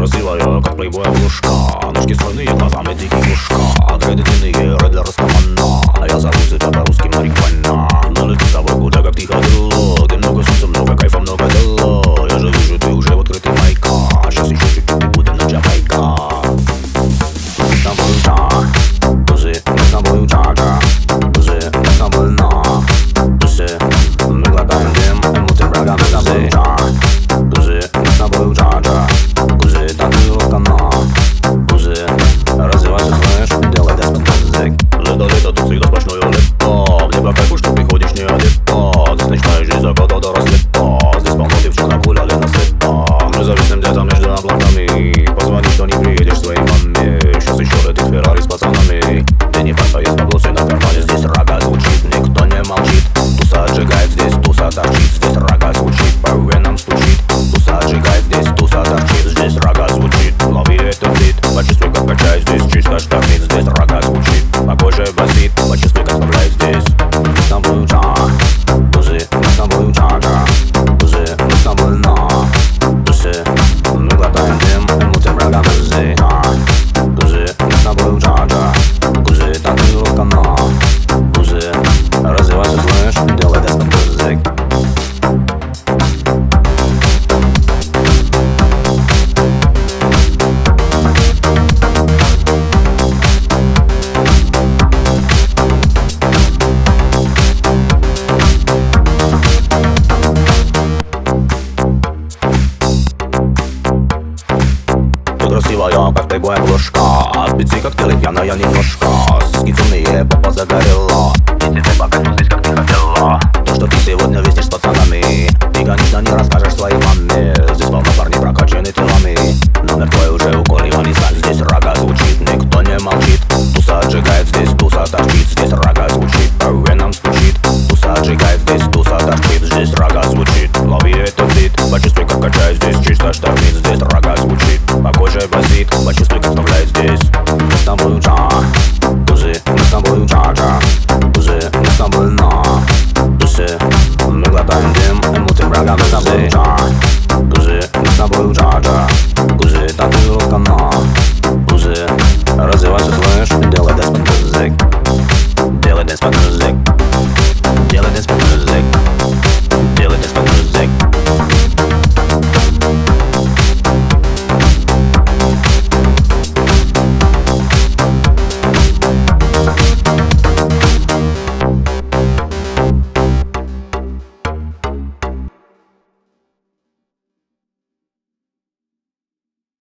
Красивая, как плейбой обложка. Ножки стройные, глазами дикий кошка. Дреды длинные, ред для растамана. А я зову себя по-русски марихуана. Налети с тобой куда как тихо дуло. Ты много солнца, много кайфа, много дела. Я же вижу, ты уже в открытый майка. Сейчас еще чуть-чуть и будем на Джамайка. Мы с тобой так, тузы, мы с тобой джага. Тузы, мы с тобой на тузы. Мы глотаем дым, и мутим врага. Мы с тобой так, тузы, мы с тобой джага. Тузы, танцуй окна. Тузы, развивайся, слышь, делай десмент. Лето, тут всегда сплошное лето. Где по кайфу, что приходишь не одета. Здесь начинаешь жизнь заката до рассвета. Здесь полно девчонок гуляли на света. Мы зависим где-то между облаками. Позвони, что не приедешь своей маме. Сейчас еще летит Феррари с пацанами. Ты не парься, есть баблосы на кармане. Здесь рога звучит, никто не молчит. Туса отжигает, здесь туса торчит. Здесь рога звучит, по венам стучит. Туса отжигает, здесь туса торчит. Здесь рога звучит, лови этот бит. Почувствуй, как качает здесь, чисто штормит. Здесь рога звучит, по коже басит. Почувствуй, как вставляет здесь. Мы с тобой джага, тузы, мы с тобой джага. Тузы, мы с тобой на тузы. Мы глотаем дым, и мутим врага. Тузы, тузы, мы с тобой джага. Тузы, танцуй окна. Тузы, развивайся, слышь, делай десмент. Тузы. Красивая, как плейбой обложка. Спецы коктейли, пьяная немножко. Соски темные, попа загорела. И тебе по кайфу здесь, как ты хотела. То, что ты сегодня вестишь с пацанами, ты, конечно, не расскажешь своей маме. Здесь полно парней прокачаны телами. Номер твой уже укурила сталь. Здесь рога звучит, никто не молчит. Туса отжигает, здесь туса торчит. Здесь рога звучит, по венам стучит. Туса отжигает, здесь туса торчит. Здесь рога звучит, лови этот бит. Почувствуй, как качает здесь, чисто штормит. Здесь рога звучит, по коже басит. Почувствуй, как вставляет здесь. Мы с тобой джага, тузы, мы с тобой джага. Тузы, мы с тобой на тузы. Мы глотаем дым, и мутим врага. Мы с тобой джага, тузы, мы с тобой джага. Тузы, танцуй окна. Тузы, развивайся, слышь, делай десмент. Делай десмент.